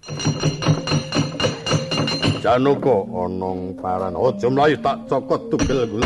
Janaka ana paran. Aja mlayu tak cokot tugel kuwi.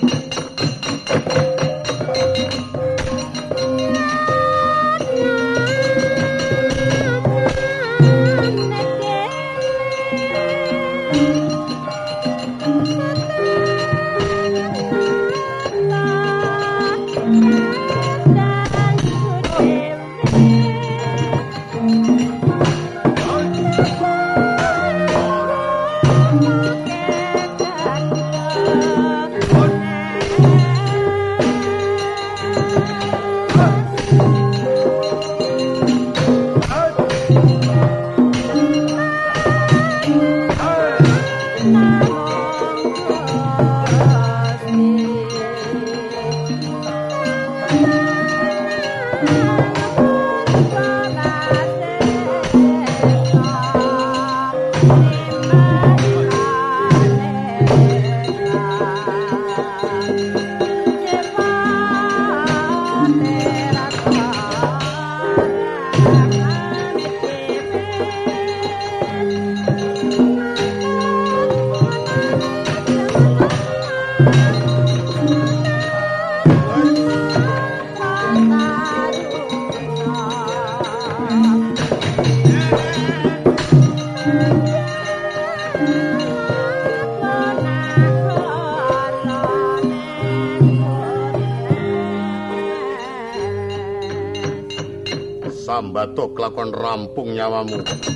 Sambato kelakon rampung nyawamu.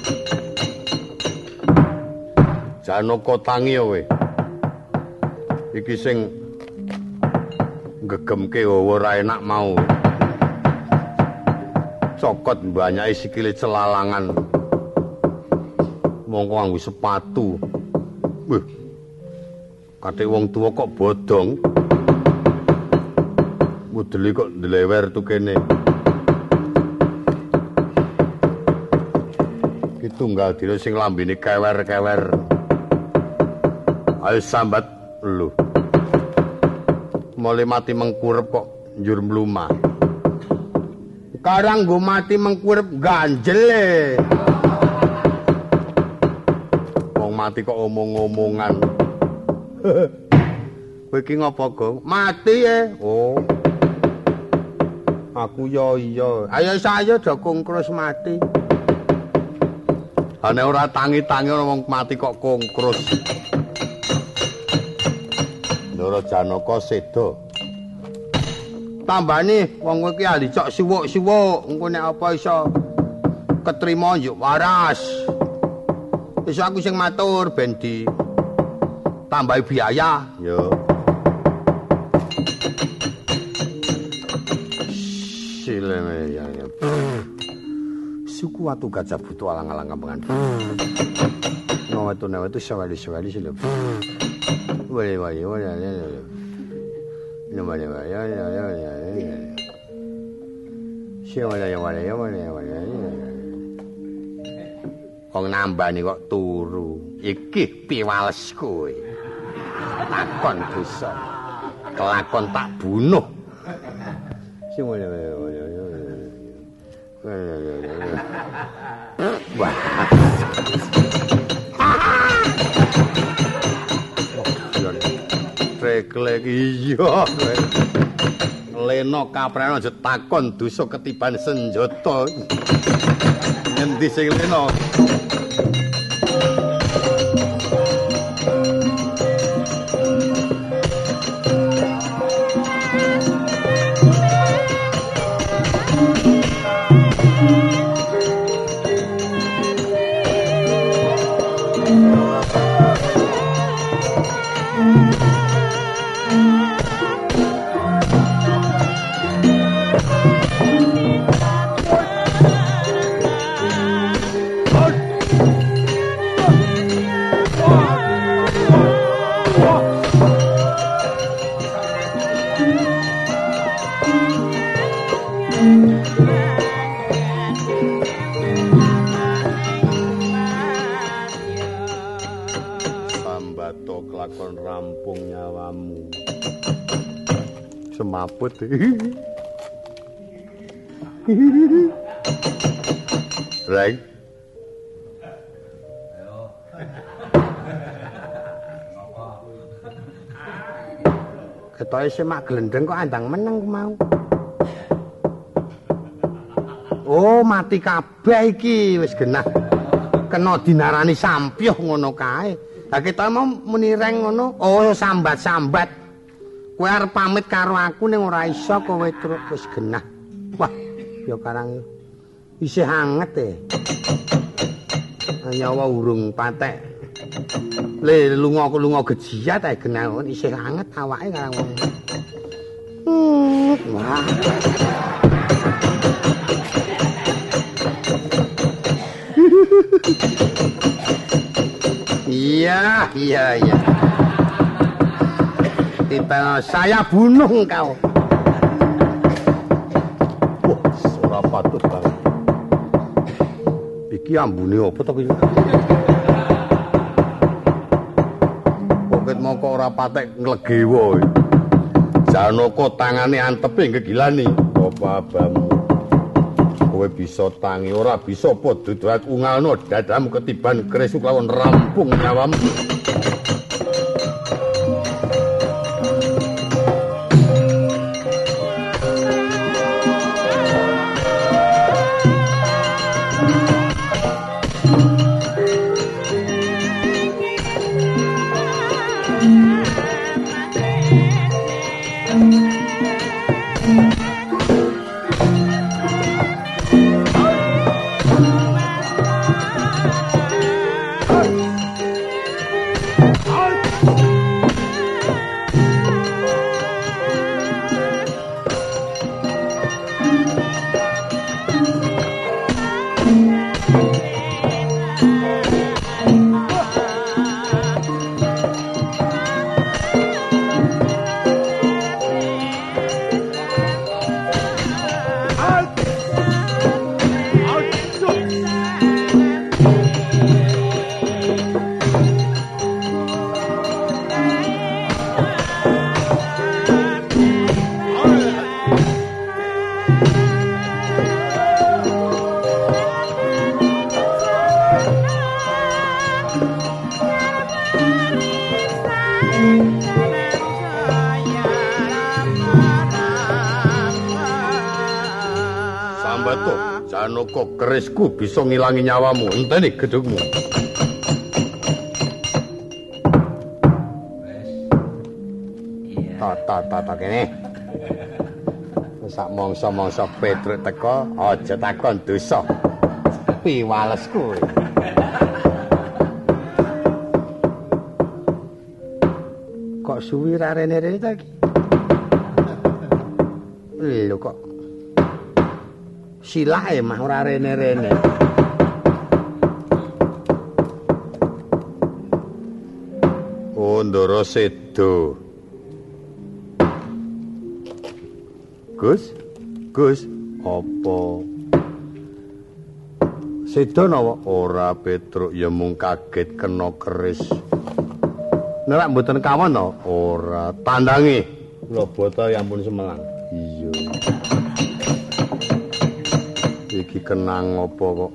Janaka tangi kowe. Iki sing gegemke ora enak mau. Cokot mbanyake sikile celalangan. Mongko nganggo sepatu. Wih. Kate wong tuwa kok bodong. Modele kok ndlewer tu kene. Tunggal dina sing lambene kewer-kewer. Ayo sambat lu. Mule mati mengkurep kok njur mlumah. Sekarang nggo mati mengkurep ganjel. Wong mati kok omong-omongan. Kowe iki ngopo, Gong? Mati Oh. Aku yo iya. Ayo saya do kungkrus mati. Ane ora tangi-tangi ana wong mati kok kongkrus. Ndara Janaka seda. Tambani wong kowe iki ahli cok siwuk-siwuk, engko nek apa iso ketrima yo waras. Iso aku sing matur ben di tambahi biaya. Yo. Silene ya. Suku watu gajah butuh alang-alang kampengan. Nawetu sawali-sawali sile. Wale. Wong nambani kok turu. Iki piwales kowe. Takon dosa. Kelakon tak bunuh. Wah. Reklek iya. Leno kapreno aja takon dosa ketiban senjata. Ngendi sing leno? Semaput. Right. Ketoke semak glendeng kok andang meneng mau. Oh, mati kabeh iki wis genah. Kena dinarani sampyuh ngono kae. Lah ketoke mau muni reng ngono, oh sambat-sambat. Kowe arep pamit karo aku ning ora iso kowe truk wis genah. Wah, ya karang isih anget nyawa urung patek. Le lunga gejiat ae genah isih anget awake karang wong. Wah. Iya. Kita saya bunuh engkau. Wah, ora patut banget. Iki ambune apa to iki? Poket moko ora patek nglegewa. Janaka tangane antepe ngegilani. Apa abamu? Kowe bisa tangi ora bisa apa duduhat ungalno dadamu ketiban kresuk lawan rampung nyawamu. Janaka kerisku bisa ngilangi nyawamu. Enteni gedhugmu. Tata kene. Sak mangsa-mangsa Petruk teka, aja takon dosa. Piwalesku. Kok suwi ra rene-rene ta iki? Lho kok silahe mah ora rene-rene. Oh, Ndara Sedo. Gus, apa? Sedo napa? Ora Petruk ya mung kaget kena keris. Nek mboten kawon to? Ora, tandangi. Kula bota ya ampun semelang. Iya. Iki kenang apa kok?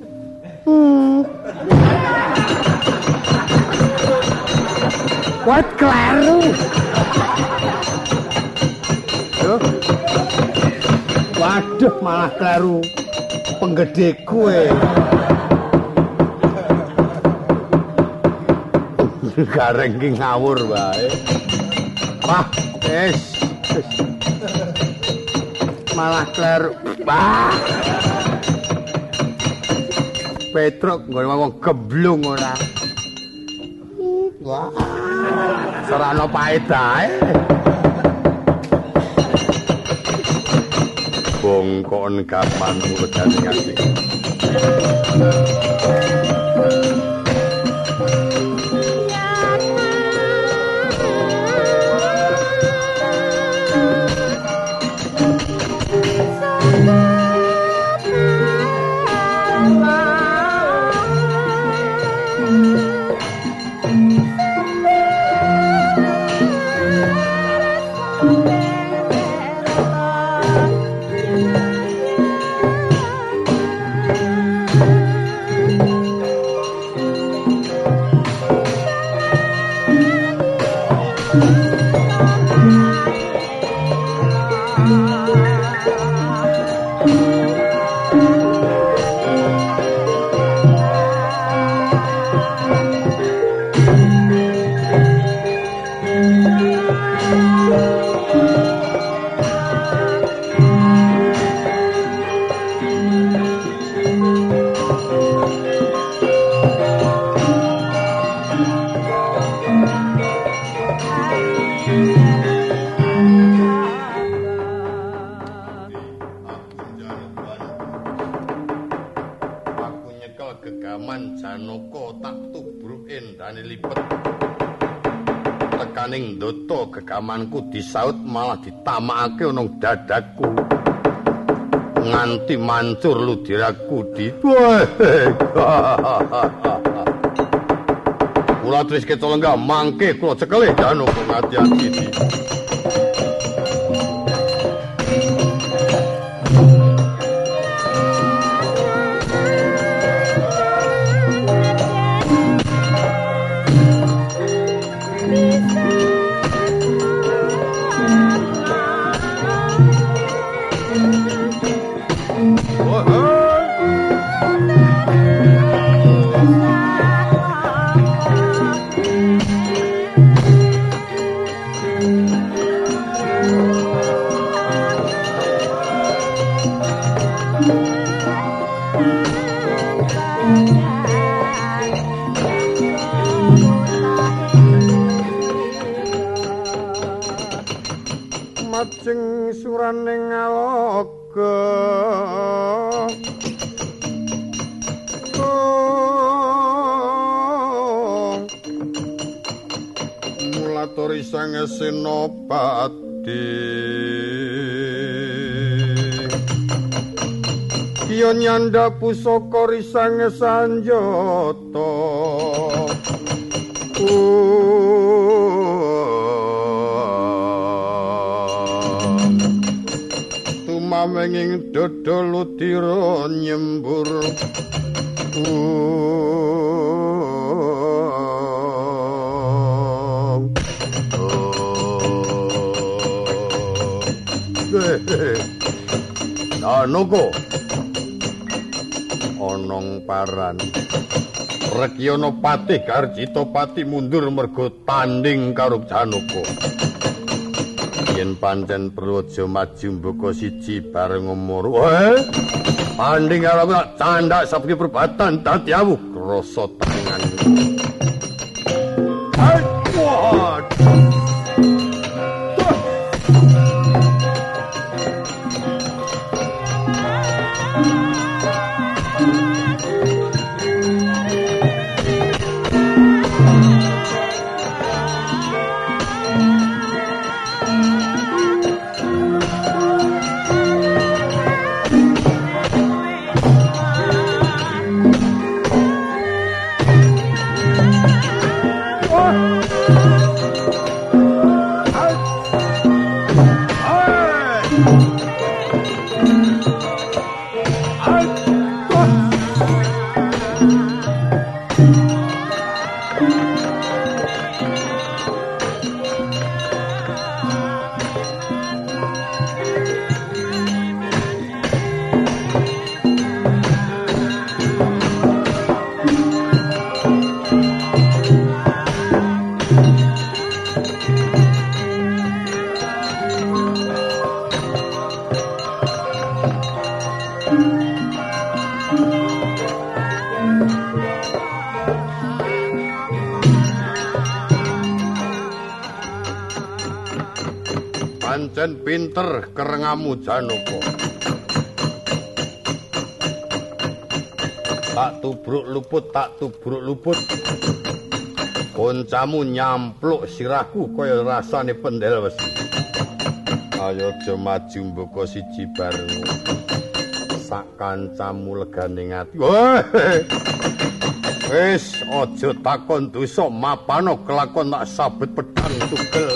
Kuat kleru. Waduh, malah kleru. Penggede kowe. Gareng ki ngawur wae. Wah, wis. Malah kleru. Wah. Petruk nggon wong geblung ora. Wah. Serana paedae. Bongkon kapan mudane ngasih. bakal gegaman Janaka tak tubruk endane lipet. Tekaning ndata gegamanku disaut malah ditamakake ana dadaku. Nganti mancur ludiraku di. Kula terus kecolengga mangke kula cekele Janaka ngati-ati. Majeng suraning ngaloga mulatori sang Senopati Kiyo nyanda pusaka risang Sanjata tumamenging dodol udira nyembur Janaka onong paran Rekyana Patih Karjita Pati mundur merga tanding karo Janaka. Yen pancen perlu aja maju mboko siji bareng umur. Tanding karo aku tak candak sabengi perbatan dadi awu krasa tangan. Pancen pinter kerengamu Janaka. Tak tubruk luput. Koncamu nyampluk sirahku kaya rasane pendel wesi. Ayo aja maju mboko siji bareng. Sak kancamu legane ngati. Wis aja takon dosa mapano kelakon tak sabet pedang tugel.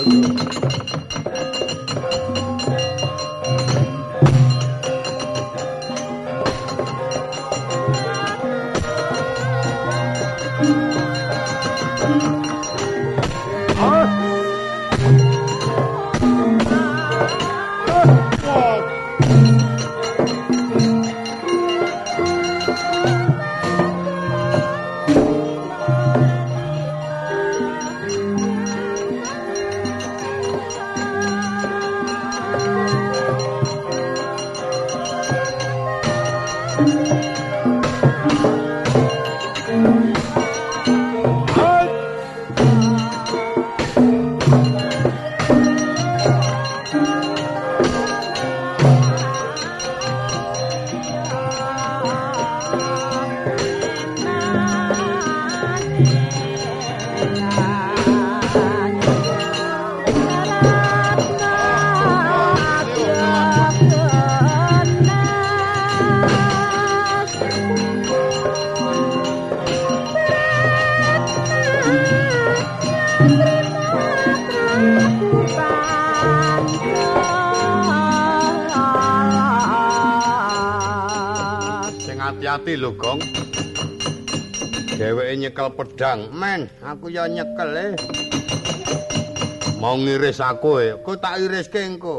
Hati-hati lho, Gong. Dheweke nyekel pedhang. Men, aku ya nyekel Mau ngiris aku Kok tak iriske engko.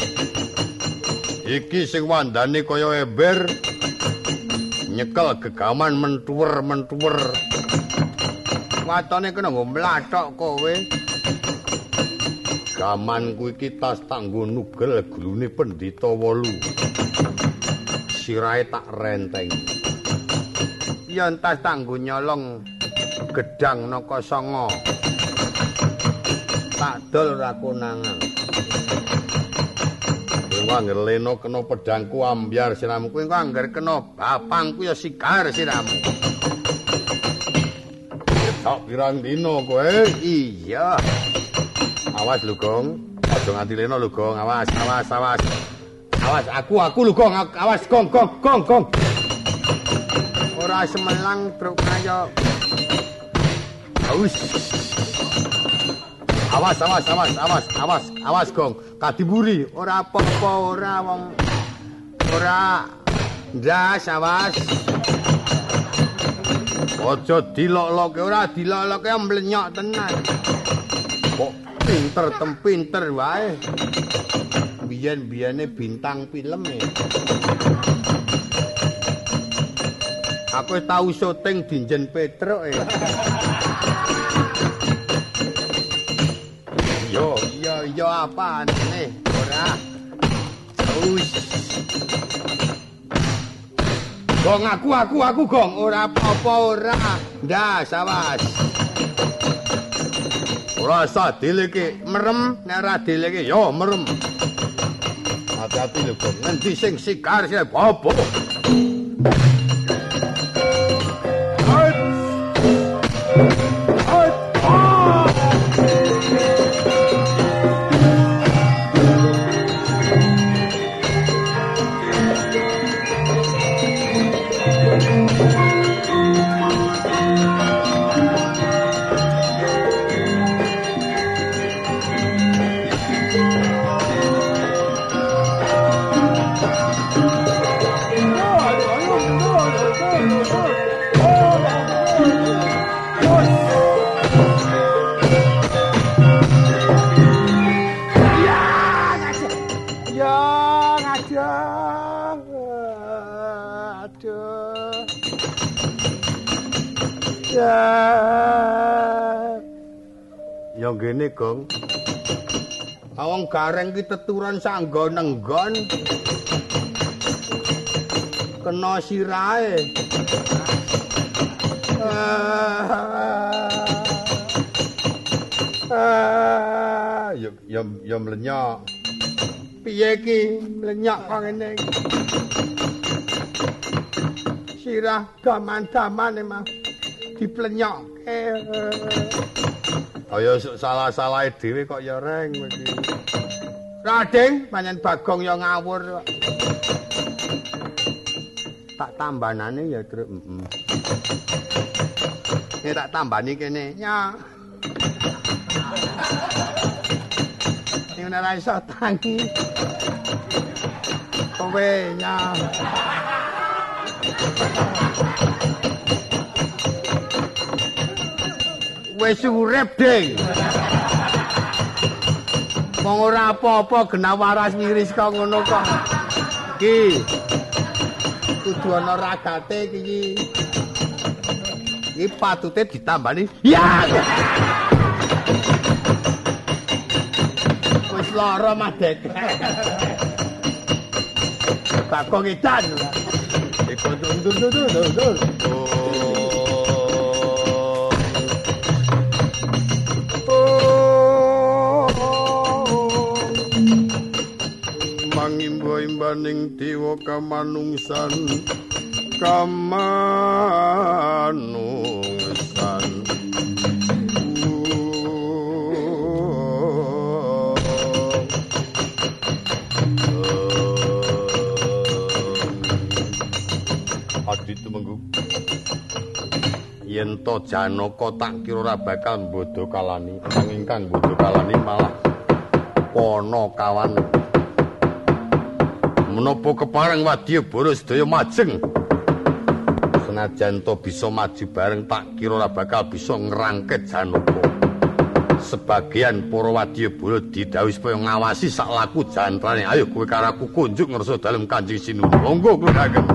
Iki sing wandane kaya ember. Nyekel gegaman mentuwer. Watone kena nggo mlathok kowe. Gamanku iki tas tanggo nugel glune Pendhita 8. Sirahe tak renteng. Yen tas tanggo nyolong gedang naka sanga. Tak dol ora konangan. Kowe angger leno kena pedhangku ambyar siramu. Kowe angger kena bapangku ya sigar siramu. Tak pirang dino kowe? Iya. Awas lho, Gong. Aja nganti leno lho, Gong. Awas. Awas, aku lho, Gong. Awas, Gong. Ora semelang truk kaya. Awas, Gong. Kadiburi, ora apa-apa, ora wong. Ora ndas, awas. Aja dilok-loke, ora dilok-loke mlenyok tenan. Kok pinter wae. Biyen-biyene bintang film Aku tau syuting Dinjen Petruk Yo apaan nih? Ora. Gong aku Gong, ora apa-apa ora. Ndas awas. Ora usah dileke, merem nek ora dileke yo merem. Hati-hati lho Gong, ngendi sing sigar sing bobo. Ya ngene, Gong. Awang gareng ki teturan sanggo nenggon. Kena sirahe. Ya mlenyok. Piye ki mlenyok kok ngene. Sirah daman-daman emang diplenyokke. Kaya salah-salahe dhewe kok ya reng iki. Rading, pancen Bagong ya ngawur. Tak tambanane ya, Truk. Nek tak tambani kene, ya. Ning ora iso tangi. Kowe ya. Wis urip, Ding. Wong ora apa-apa genah waras ngiris kok ngono kok. Iki. Kudu ana ragate iki. Iki patute ditambani. Ya. Wis lara mah, Dek. Bagong edan. Iku ndur. Mangimba-imbaning dewa kamanungsan Aditu menggu yen to Janaka tak kira ora bakal bodho kalani nanging kang bodho kalani malah Pana kawan. Menapa kepareng wadya bara sedaya majeng Senajan to bisa maju bareng tak kira ora bakal bisa ngrangket Janaka. Sebagian para wadyabala didhawuhi supaya ngawasi sak laku jantrane. Ayo kowe karo aku kunjuk ngersa dalem Kanjeng Sinuwun. Monggo kula ageng.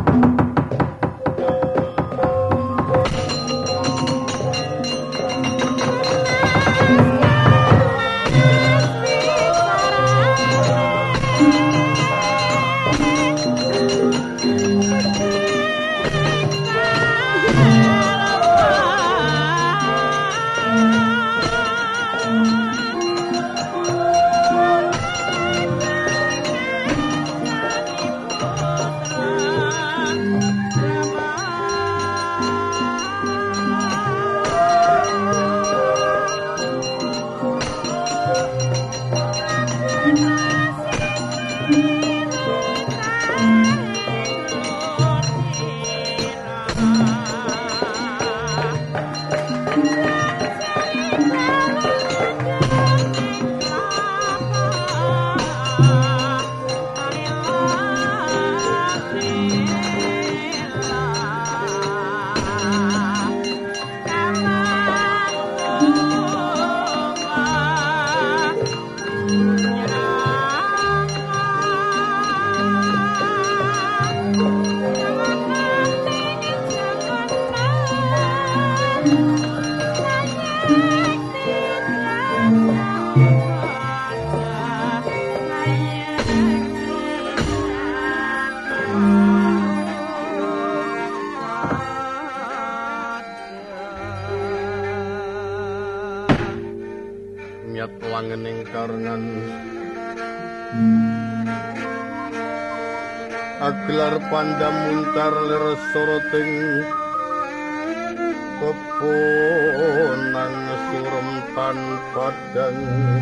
Wangening karengan aglar pandamuntar lir soroting peponang surem tanpa dan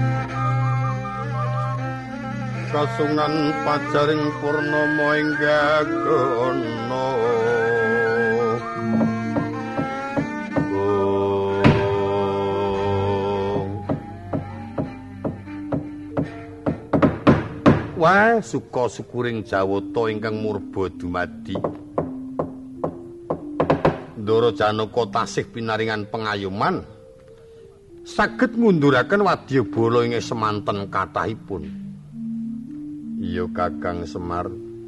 kasungan pajaring purnama ing gagono wah suka syukuring Jawata ingkang murba dumadi. Ndara Janaka tasih pinaringan pengayuman saged ngunduraken wadyabala ing semanten kathahipun. Iya Kakang Semar.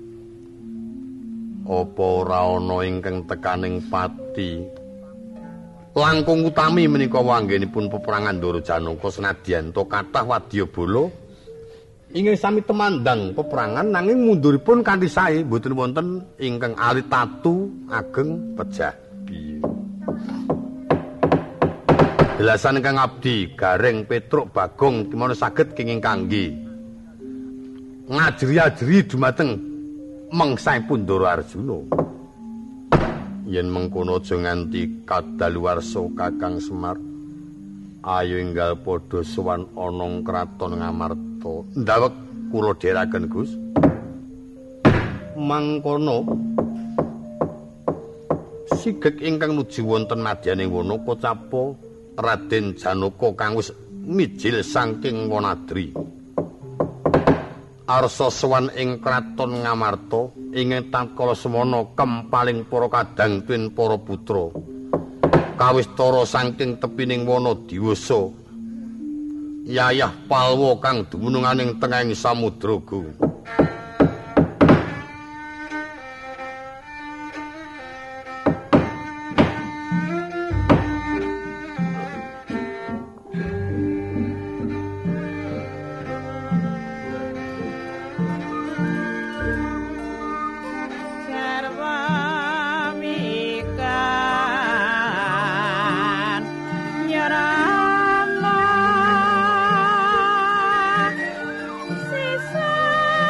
Apa ora ana ingkang tekaning pati langkung utami menika wanggenipun peperangan Ndara Janaka senadyan to kathah wadyabala ingkang sami temandang peperangan nanging munduripun kanthi sae mboten wonten ingkang alit tatu ageng pejah. Jelasan Kang Abdi Gareng Petruk Bagong kimono saged kenging kangge ngajri-ajri dumateng mengsaipun Ndara Arjuna. Yen mengkono aja nganti kadaluwarsa Kakang Semar. Ayo enggal padha sowan ana kraton Ngamarta. Ndawek kula dherekaken Gus. Mangkono sigeg ingkang nuju wonten madyaning wana kocapa Raden Janaka kang wis mijil saking Wanadri. Arsa sowan ing kraton Ngamarta ing tatkala semana kempaling para kadang tuwin para putra. Kawistara saking tepining wana diwasa Yayah Palwa kang dumununganing tengahing samudraga. Sisa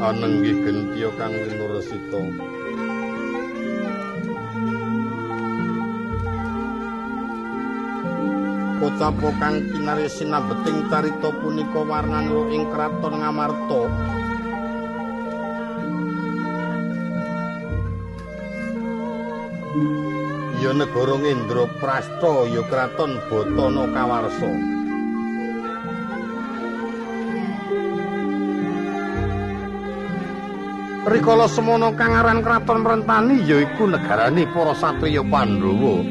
panenggih gentiya kang winuresita. Kocapa kang kinarya sinabeting carita punika warnanira ing kraton Ngamarta. Ya negara Ngendraprastha ya kraton Batana Kawarsa. Rikala semana kang aran kraton Rentani yaiku negarane para satriya Pandhawa.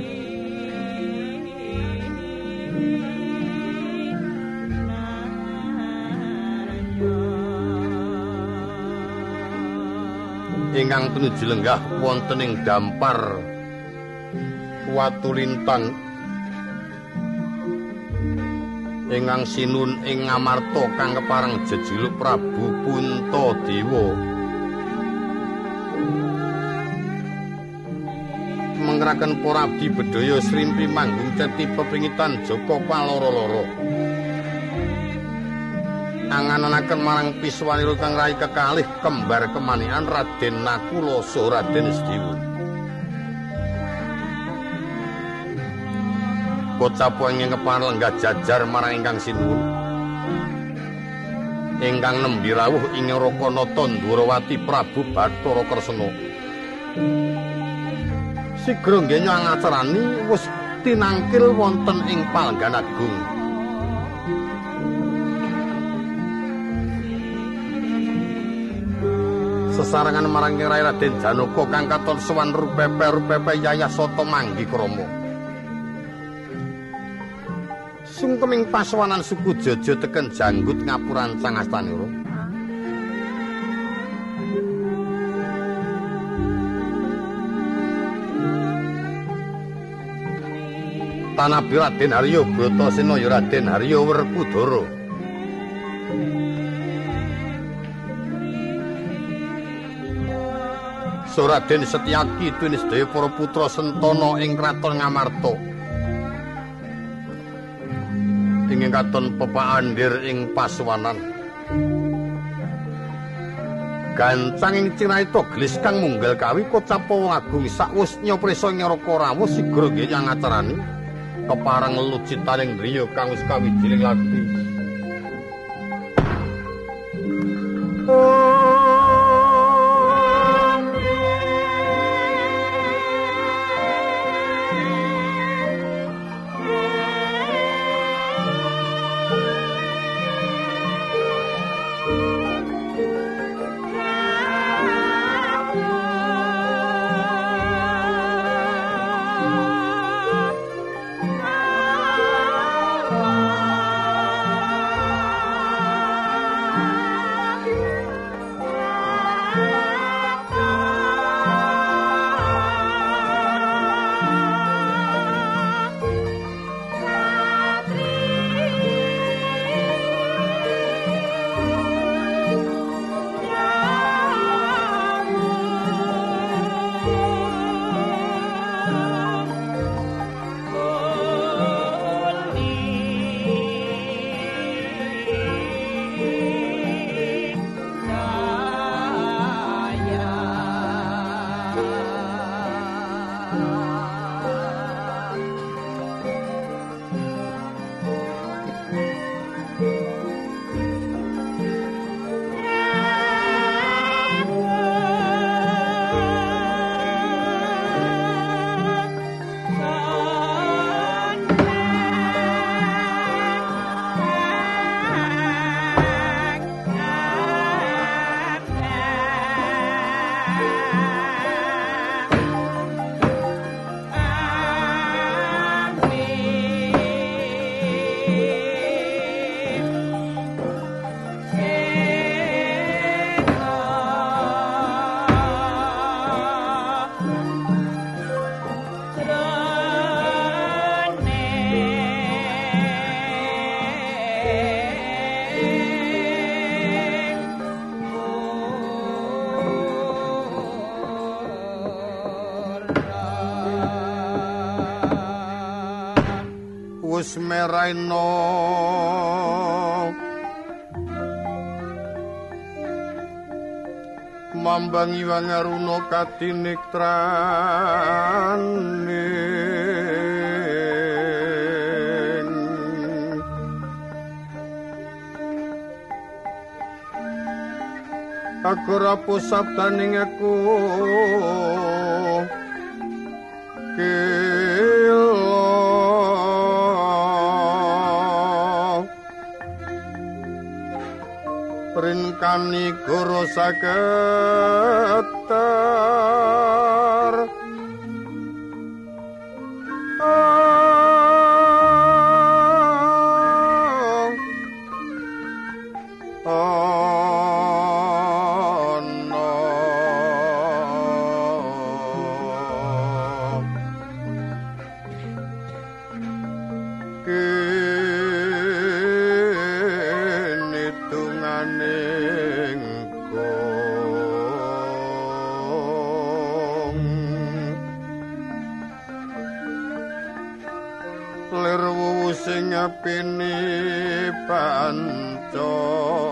Ingkang tunuju lenggah wonten ing dampar Watu Lintang ingkang sinun ing Ngamarta kang kepareng jejuluk Prabu Puntadewa. Mengraken para abdi bedhaya srimpi manggung ceti pepringitan Joko paloro-loro. Angan-anaken marang Piswanira kang rai kekalih kembar kemanikan Raden Nakula saha Raden Sediwu. Kocapa ingkang kepareng lenggah jajar marang ingkang sinuwun. Ingkang nembe rawuh ing Rakanata Ndwarawati Prabu Bathara Kresna. Sigra nggih ngacarani wis tinangkil wonten ing Palenggan Agung. Sesarengan marang Rai Raden Janaka kang katon sowan rupepe Yayah Sata Manggi Krama. Sungkeming pasowanan suku Jaja teken janggut ngapurancang astanira. Tanapi Raden Harya Bratasena ya Raden Harya Werkudara. Raden Setyaki tuwin sedaya para putra Sentana ing kraton Ngamarta. Ingkang katon pepaandir ing pasowanan. Gancang ing cinarita gelis kang munggal kawi kocapa wong agung sakwus nyopresa ngraka rawuh sigra nggih ngacarani kepareng lucitaning driya kang wis kawijining lakti. Wis meraina Mambang Iwang Aruna katinektraning aku rapuh sabdaning aku Rinkani goro saketar pini panco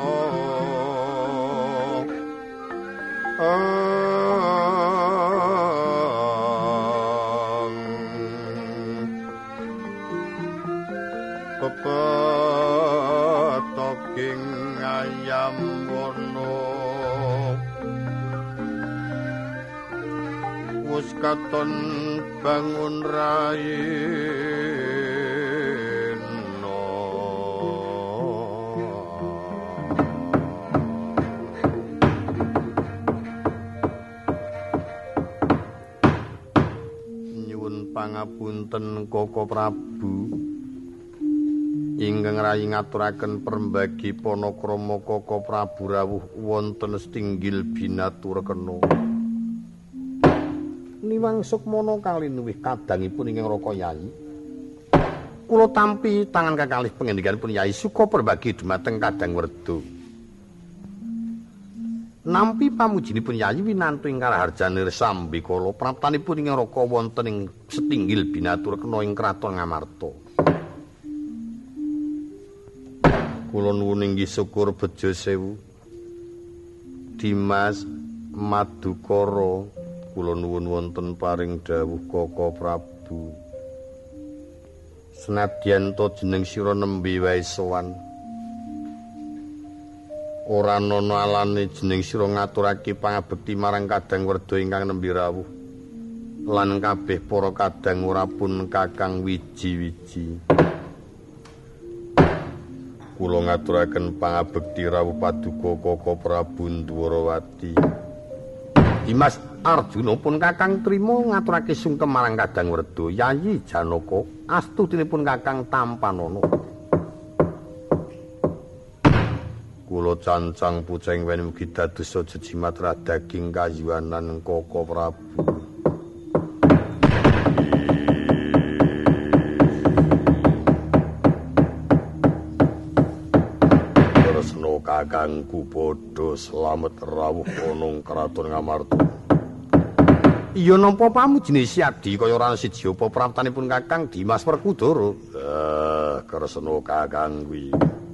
pepetoking ayam wono wis katon bangun rai pangapunten Koko Prabu ingkang rayi ngaturaken perembagi panakrama Koko Prabu rawuh wonten Stinggil Binatur Kena Niwang Sukmana kalinuwih kadangipun ingkang Raka Yayi kula tampi tangan kakalih pangendikanipun Yayi suka perbagi dumateng Kadang Werda nampi pamujinipun Yayi winantu ing karaharjane Sambikala praptanipun ing Raka wonten ing Setinggil Binatur Kena ing Kraton Ngamarta. Kula nuwun inggih syukur bejo sewu. Dimas Madukara kula nuwun wonten paring dawuh Koko Prabu. Senadyan to jeneng sira nembe wae sowan. Ora ana alane jeneng sira ngaturake pangabekti marang Kadang Werda ingkang nembe rawuh lan kabeh para kadang ora pun kakang wiji-wiji kula ngaturaken pangabekti rawuh paduka Koko Prabu Ndwarawati Dimas Arjuna pun kakang trima ngaturake sungkem marang Kadang Werda Yayi Janaka astutinipun kakang Tampanana kula cancang puceng wen mugi dados jejimat daging kayuanan Koko Prabu. Tresna kakangku padha slamet rawuh ana Kraton Ngamarta. Iya napa pamujine Siadi kaya ora siji apa praptanipun Kakang Dimas Werkudara. Kresna kakang kuwi.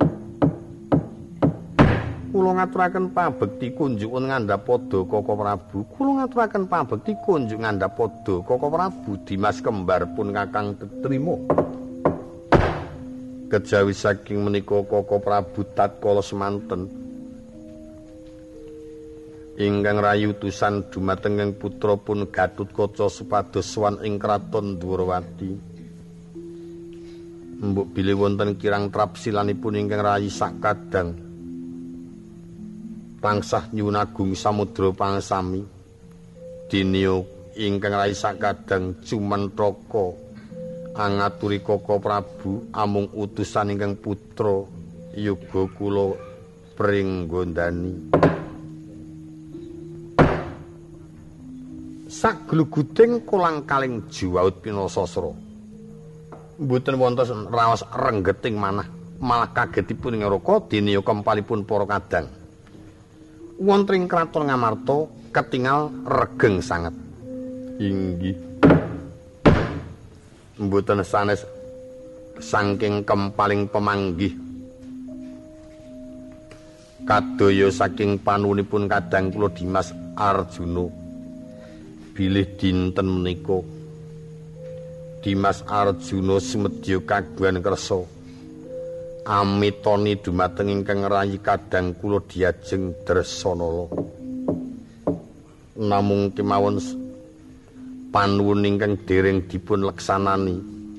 Kula ngaturaken pabekti kunjuk ngandhapada Koko Prabu. Kula ngaturaken pabekti kunjuk ngandhapada Koko Prabu. Dimas kembar pun kakang trima. Kejawi saking menika Koko Prabu tatkala semanten ingkang rayi utusan dumateng putra pun Gatutkaca supados sowan ing Kraton Dwarawati. Mbok bilih wonten kirang trapsilanipun ingkang rayi sakadang tansah nyuwun agung samudra pangsami diniya ingkang rayi sakadang Jumentraka angaturi Koko Prabu amung utusan ingkang putra yoga kula pringgondani sagluguting kolang kaling jiwaut pinasasra mboten wonten raos renggeting malah kagetipun ing Raka diniya kempalipun para kadang wonten ing Kraton Ngamarta ketingal regeng sanget. Inggih. Mboten sanes saking kempaling pemanggih. Kadaya saking panuwunipun kadang kula Dimas Arjuna. Bilih dinten menika Dimas Arjuna sumedya kagungan kersa amitoni dumateng ingkang rayi kadang kula diajeng Dresanala. Namung kemawon panuwun ingkang dereng dipun leksanani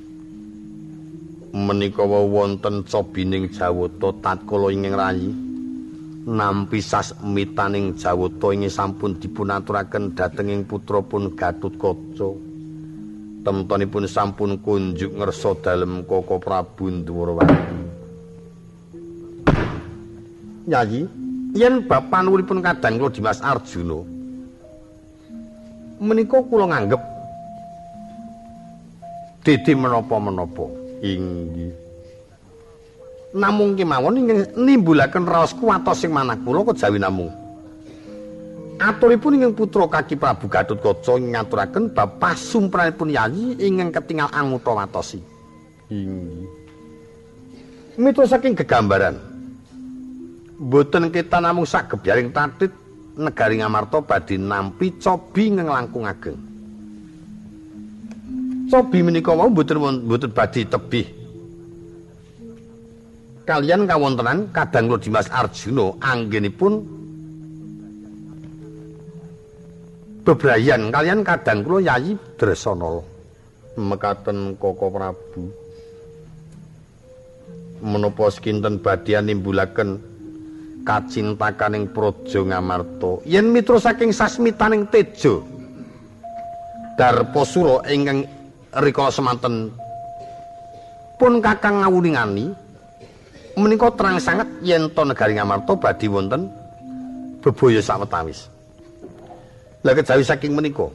menika wonten cobining Jawata tatkala ingkang rayi nampi sasmitaning Jawata ingkang sampun dipunaturaken dhatenging putrapun Gatotkaca. Temtunipun sampun kunjuk ngersa dalem Koko Prabu Ndwarawati. Nyayi, yen bab panuwunipun kadang kula Dimas Arjuna menika kula nganggep dede menapa-menapa. Inggih. Namung kemawon ingkang nimbulaken raos kuwatos sing manah kula kejawi namung aturipun ingkang putra Kaki Prabu Gatotkaca ngaturaken bab pasumperanipun yayi ingkang ketingal anguta watosi. Inggih. Miturut saking gegambaran mboten kita namung sagebyaring tatit negari Ngamarta badhe nampi cobi ingkang langkung ageng. Cobi menika wau mboten badhe tebih kalian kawontenan kadang kula Dimas Arjuna anggenipun bebrayan kalian kadang kula Yayi Dresanala. Mekaten Koko Prabu menapa sekinten badhe nimbulaken kacintakaning praja Ngamarta yen mitra saking sasmitaning teja Darposura ingkang rikala semanten pun kakang ngawuningani menika terang sanget yen to negari Ngamarta badhe wonten bebaya sawetawis. Lah kejawi saking menika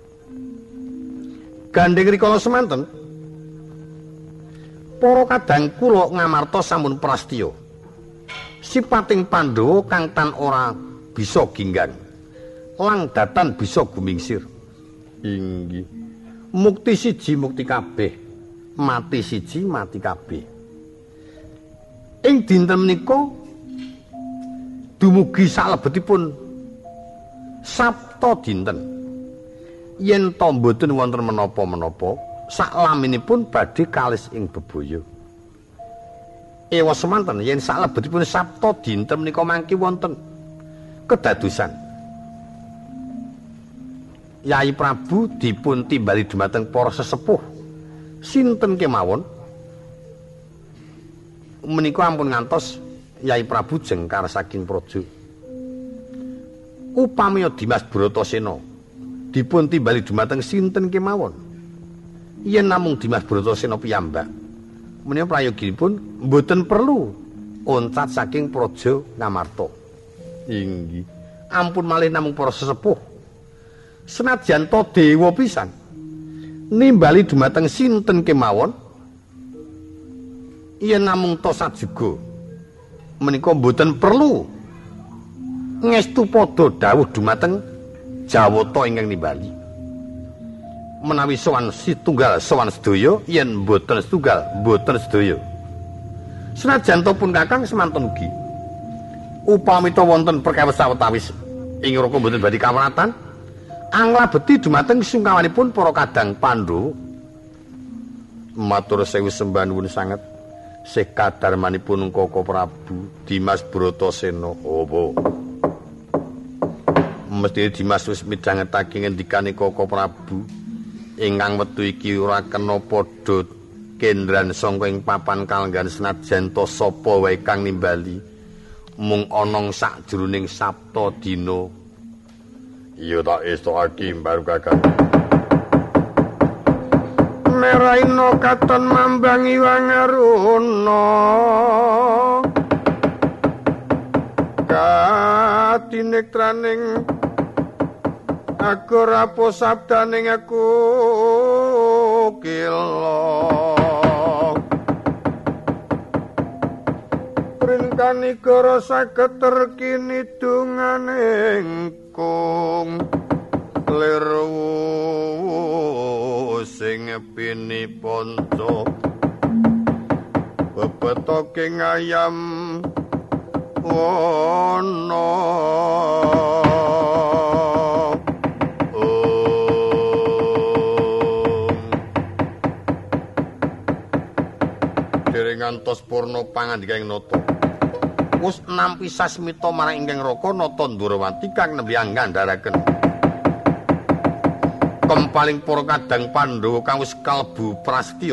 gandeng rikala semanten para kadang kula Ngamarta sampun prastya sipating Pandhawa kang tan ora bisa ginggan lang datan bisa gumingsir. Inggih. Mukti siji mukti kabeh, mati siji mati kabeh. Ing dinten menika dumugi salebetipun Sabta dinten. Yen to mboten wonten menapa-menapa, saklaminipun badhe kalis ing bebaya. Ewa semanten yen salebetipun Sabta dinten menika mangke wonten kedadosan Yai Prabu dipun timbali dumateng para sesepuh sinten kemawon menika ampun ngantos Yai Prabu jengkar saking praja. Upami Dimas Bratasena dipun timbali dumateng sinten kemawon yen namung Dimas Bratasena piyambak menika prayoginipun mboten perlu oncat saking praja Ngamarta. Inggih. Ampun malih namung para sesepuh senajan to dewa pisan nimbali dumateng sinten kemawon yen namung to sajuga menika mboten perlu ngestu padha dawuh dumateng Jawata ingkang nimbali. Menawi sowan setunggal sowan sedaya yen mboten setunggal mboten sedaya. Senajan to pun kakang semanten ugi upami to wonten perkawis sawetawis ing raka mboten badhe kawaratan anglabeti dumateng sungkawanipun para kadang Pandhawa. Matur sewu sembah nuwun sanget sih kadarmanipun Koko Prabu Dimas Bratasena. Apa mesti Dimas wis midhangetake ngendikane Koko Prabu ingkang wektu iki ora kena padha kendran sangka ing papan kalenggan senajan to sapa wae kang nimbali mung ana sakjroning Sabta dina. Iya tak istokake baru kakak. Meraina katon mambangi wangaruna katinektraning aku rapo sabdaning aku kila printani karo saged terkini dunganing kung lirwu sing pini ponco bebetoke ngayam wono ngantos purna pangandikaing Nata. Wus nampi sasmita marang ingkang Raka Nata Ndrawati kang nembe anggandharaken kempaling para kadang Pandhawa kang wis kalebu prasetya.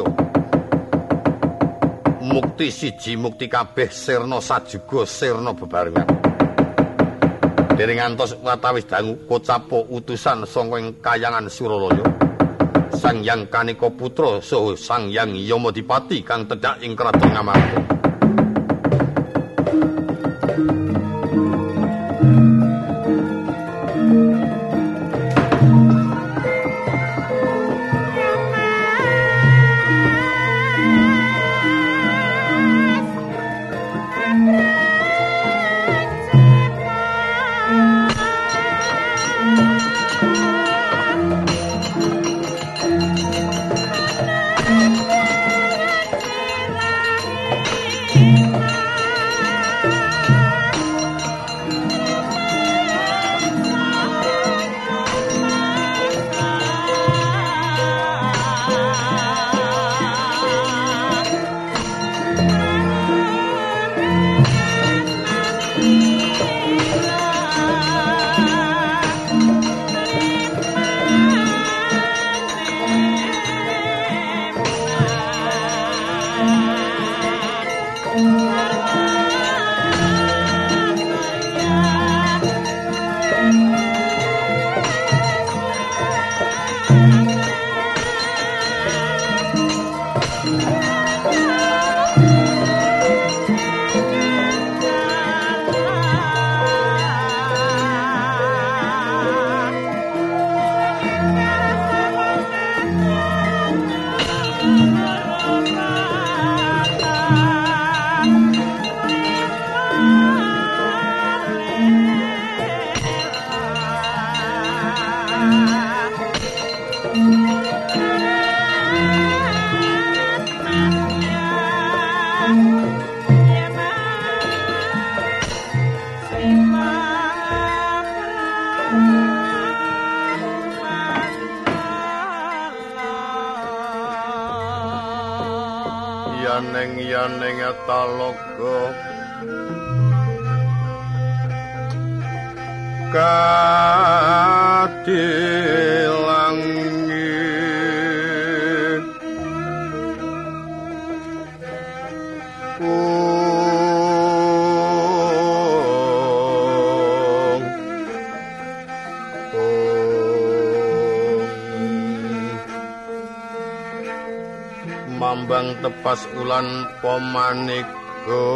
Mukti siji mukti kabeh sirna sajuga sirna bebarengan. Dereng ngantos watawis dangu Kocapa utusan saka ing Kahyangan Suralaya. Sang Hyang Kanika Putra saha Sang Hyang Yamadipati kang tedhak ing kraton Ngamarta. Yaneng etaloga kadilangit mambang tepas ulan pamanika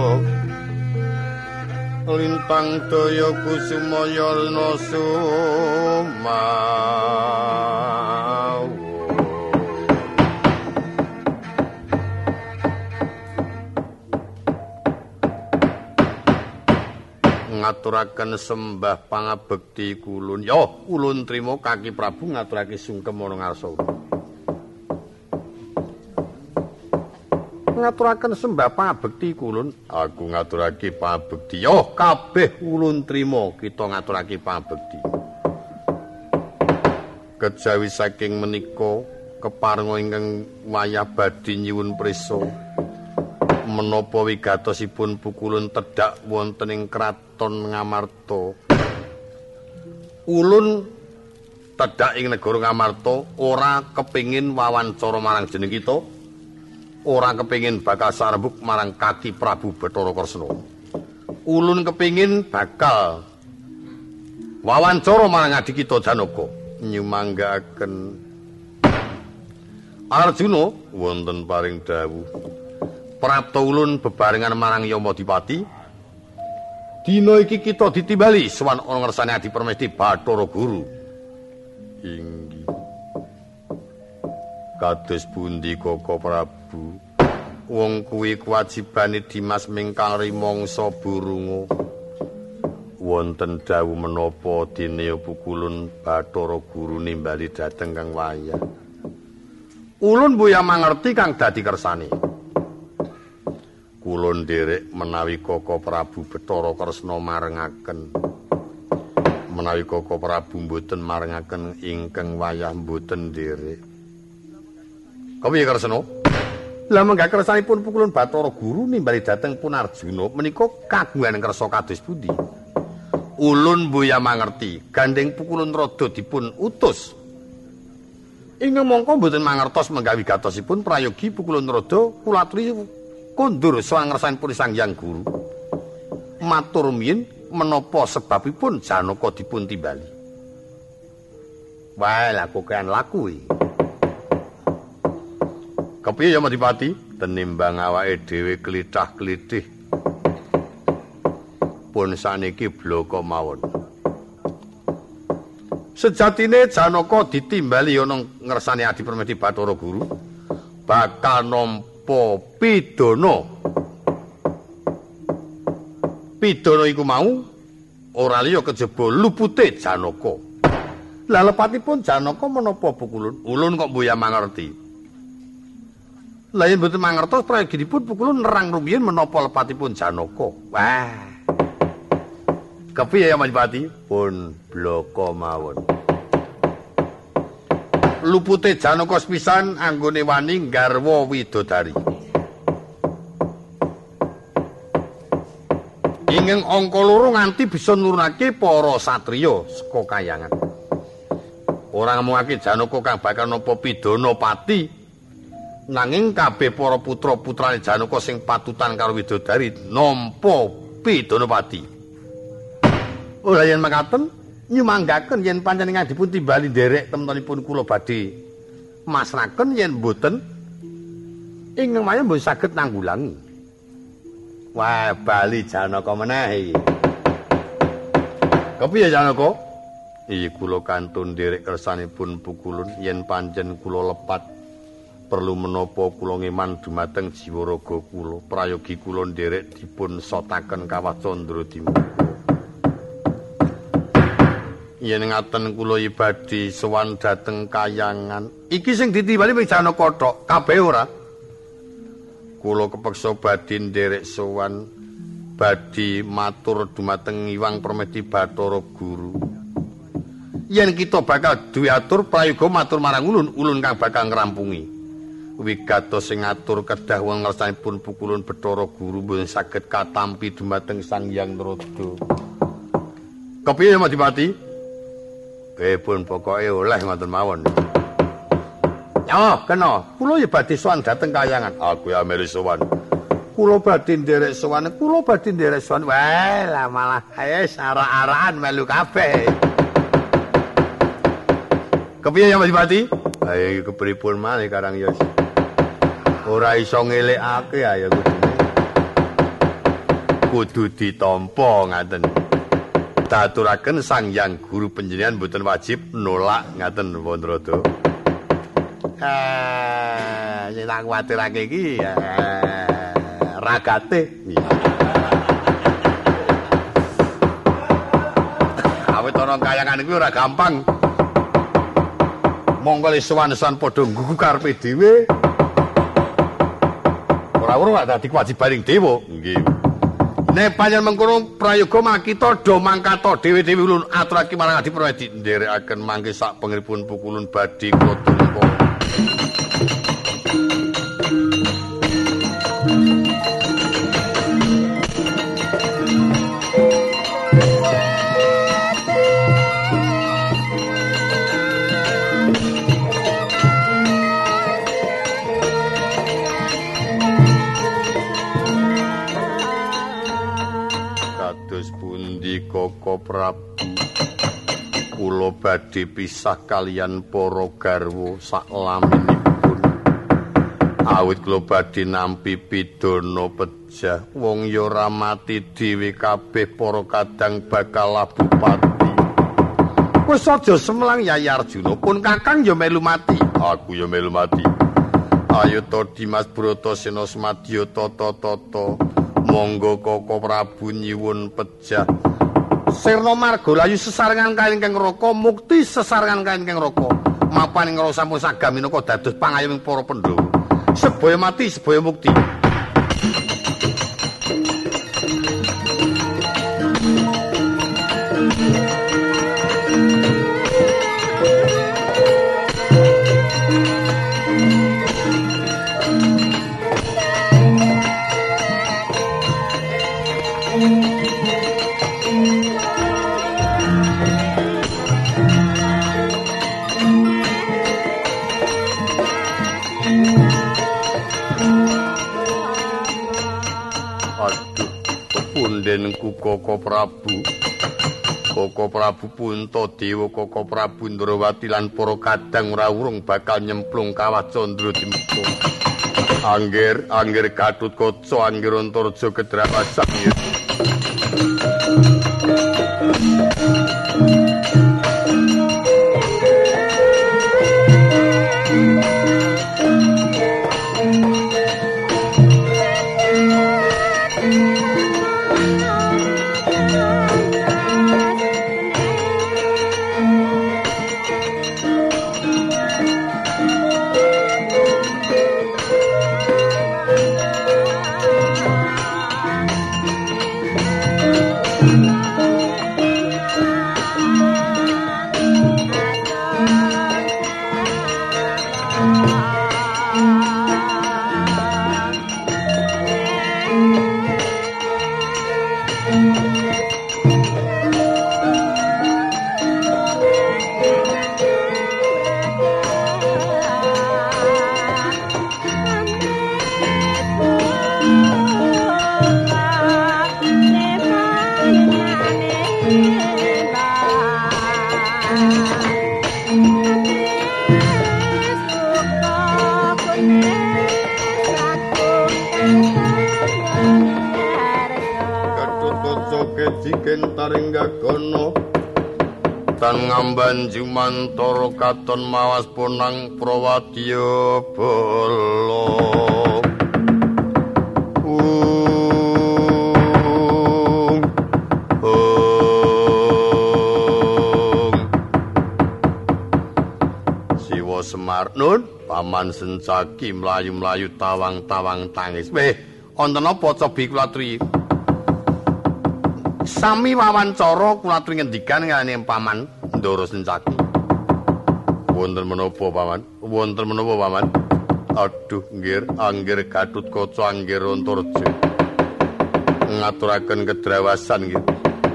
lintang daya kusumaya rena sumawa ngaturaken sembah pangabekti kulun ya ulun trima Kaki Prabu ngaturake sungkem ana ngarsa ngaturaken sembah pangabekti kulun aku ngaturake pangabekti yo kabeh ulun trima kita ngaturake pangabekti kejawi saking menika keparenga ingkang wayah badhe nyuwun prisa menapa wigatosipun pukulun tedhak wonten ing kraton Ngamarta ulun tedhak ing negara Ngamarta ora kepingin wawancara marang jeneng kita ora kepingin bakal sarembuk marang Kaki Prabu Bathara Kresna. Ulun kepingin bakal wawancara marang adik kita Janaka nyumanggaaken Arjuna wonten paring dawuh. Prapta ulun bebarengan marang Yamadipati. Dina iki kita ditimbali sowan ana ngersane Adi Permesti Bathara Guru. Inggih. Kados pundi Kaka Prabu? Wong kuwi kewajibane Dimas mingkang rimangsa burunga. Wonten dawuh menapa dene pukulun Bathara Guru nimbali dhateng kang wayah. Ulun mboya mangerti kang dadi kersane. Kula nderek menawi Kaka Prabu Bathara Kresna marengaken. Menawi Kaka Prabu mboten marengaken ingkang wayah mboten nderek. Kepiye Kresna? Lah menggah kersanipun pukulun Bathara Guru nimbali dhateng Punarjuna menika kagungan kersa kados pundi? Ulun mboya mangerti, gandeng pukulun rada dipun utus. Ingkang mongko mboten mangertos menggawi gatosipun prayogi pukulun rada kula aturi kondur sowan ngersanipun Sang Hyang Guru. Matur miyin menapa sebabipun Janaka dipun timbali? Wae lah kokean laku iki. Kepiye ya Madipati? Tenimbang awake dhewe klithah-klithih. Pun saniki bloko mawon. Sejatine Janaka ditimbali ana ngersane Adi Permedi Bathara Guru bakal nampa pidana. Pidana iku mau ora liya kejaba lupute Janaka. Lah lepatipun Janaka menapa pukulun? Ulun kok mboya mangerti. Lah yen mboten mangertos prayoginipun pukulun nerang rumiyin menapa lepatipun Janaka. Wah. Kepiye ya Madipati? Pun bloko mawon. Lupute Janaka sepisan anggone wani garwa widodari. Ingkang angka loro nganti bisa nurunake para satriya saka kayangan. Ora ngomongake Janaka kang bakal nampa pidana pati. Nanging kabeh para putra-putrane Janaka sing patutan karo widodari nampa pidana pati. Ora yen makaten nyumanggaken yen panjenengan dipun timbali nderek temtunipun kula badhe masraken yen mboten ingkang maya mboten saged nanggulangi. Wah, bali Janaka meneh iki. Kepiye Janaka? Iki kula kantun nderek kersanipun pukulun yen panjen kula lepat perlu menapa kula ngeman dumateng jiwa raga kula prayogi kula nderek dipun sotaken kawah Candradima. Yen ngaten kula ibadi sowan dhateng kayangan. Iki sing ditimbali mung Janaka tok, kabeh ora. Kula kepeksa badhe nderek sowan badhe matur dumateng Hyang Permedi Bathara Guru. Yen kita bakal duwe atur prayoga matur marang ulun kang bakal ngrampungi. Wigatos sing ngatur kedah wong ngersanipun pukulun Bathara Guru mboten saged katampi dumateng Sang Hyang Narada. Kepiye Madipati? Pun pokoke oleh ngoten mawon. Oh, kena. Kula ya badhe sowan dhateng kayangan. Aku ya melu sowan. Kula badhe nderek sowan. Wah, lah malah arak-arakan melu kabeh. Kepiye ya Madipati? Ayo kepripun malih Karang Yos. Ora iso ngelekake ayo kudu ditampa ngaten. Daturaken Sang Hyang Guru panjenengan mboten wajib nolak ngaten Wandrada. Sing tak kuwatirake iki ragate. Awit ana kayangan iki ora gampang. Monggo sowan-sowan padha nggugu karepe dhewe. Ora dadi kewajibaning dewa. Nggih. Nek panjenengan mengkono prayoga makita do mangkata dhewe-dhewe ulun aturake marang Adi Permedi nderekaken mangke sak pengiripun pukulun badhe kula tumeka. Koko Prabu kula badhe pisah kalian para garwa saklaminipun awit kula badhe nampi pidana pejah wong ya ora mati dhewe kabeh para kadang bakal labuh pati. Wis aja semlang Yai Arjuna pun Kakang ya melu mati. Aku ya melu mati. Ayo to Dimas Bratasena Semadya tata monggo Koko Prabu nyuwun pejah. Sirna Margalayu sesarengan kae ingkang raka mukti sesarengan kae ingkang raka mapan ing rasa sampun sagaminaka dados pangayoming para Pandhawa sebaya mati sebaya mukti. Koko Prabu Puntadewa, Koko Prabu Ndrawati lan para kadang rawurung bakal nyemplung kawah Candra Dimuka. Angger Gatotkaca, Angger Antareja kedrawasan. Banjumantara katon mawas punang Prawadya bala Siwa Semar nun Paman Sencaki mlayu-mlayu tawang-tawang tangis. Wonten apa Cobi Kulatri? Sami wawancara Kulatri ngendikan kaliyan Paman Ndara Sencaki. Wonten menapa Paman? Wonten menapa Paman? Aduh, nggih, Angger Gatotkaca, Angger Antareja. Ngaturaken kedrawasan nggih.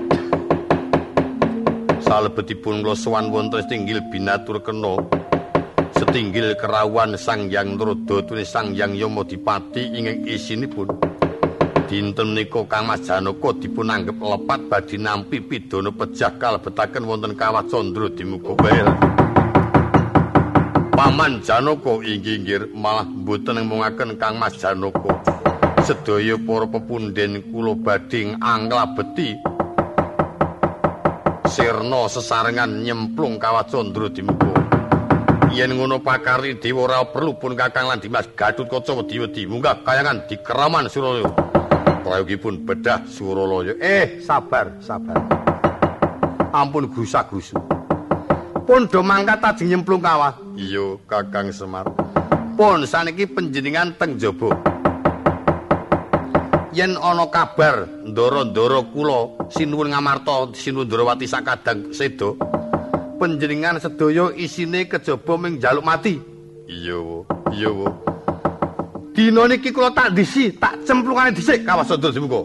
Salebetipun kula sowan wonten setinggil binatur kena. Setinggil kerawuhan Sang Hyang Narodatune Sang Hyang Yamadipati ingkang isinipun dinten menika Kang Mas Janaka dipun anggep lepat badhe nampi pidana pejah kalebetaken wonten kawah Candra Dimuka Bael. Paman Janaka inggih malah mboten mungaken Kang Mas Janaka. Sedaya para pepundhen kula badhe anglabeti sirna sesarengan nyemplung kawah Candra Dimuka. Yen ngono pakari dewa ora perlu pun Kakang lan Dimas Gatotkaca wedi-wedi munggah kayangan di Keraman Suralaya. Prayogipun bedah Suralaya. Sabar. Ampun gusak-gusu. Pun do mangkat ajeng nyemplung kawah. Iya, Kakang Semar. Pun saniki panjenengan teng jaba. Yen ana kabar ndara-ndara kula sinuwun ngamarta sinuwun Ndrawati sakadang seda, panjenengan sedaya isine kejaba ming njaluk mati. Iya, Wo. Dina niki kula tak ndisi, tak cemplungane dhisik kawah Candra Dimuka.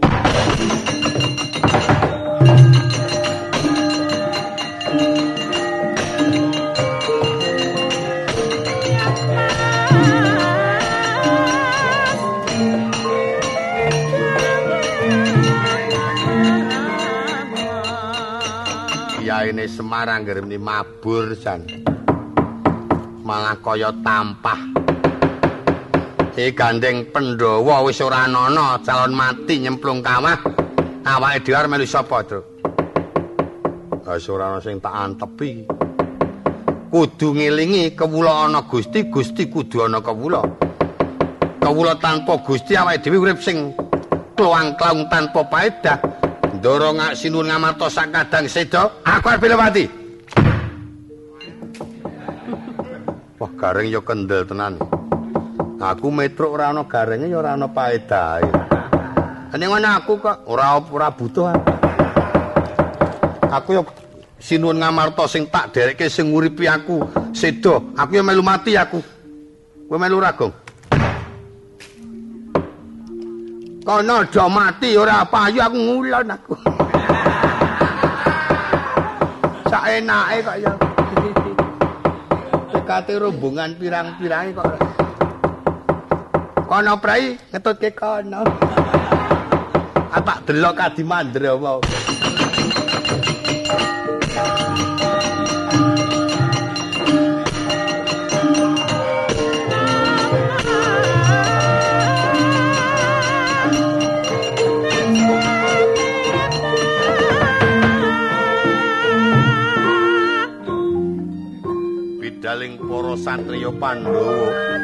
Yaine Semarang ngremni mabur jan. Malah kaya tampah. Gandeng Pandhawa wis ora ana calon mati nyemplung kawah. Awake dhewe arep melu sapa, Tru? Wis ora ana sing tak antepi. Kudu ngelingi kewula ana Gusti, Gusti kudu ana kewula. Kewula tanpa Gusti awake dhewe urip sing kluwang-klawung tanpa paedah. Ndara sinuwun ngamarta sakadang seda, aku arep mati. Wah, gareng ya kendel tenan. Aku metruk ora ana garenge ya ora ana paedahe. Ning ngono aku kok ora butuh. Aku ya sinuwun ngamarta sing tak derekke sing nguripi aku seda. Aku ya melu mati aku. Kowe melu ragong. Kono do mati ora payu aku ngulon aku. Saenake kok ya. Tekate rombongan pirang-pirange kok. Kono prai ngetutke kono. Tak delok Kadi Mandra mau. Bidaling para satriya Pandhawa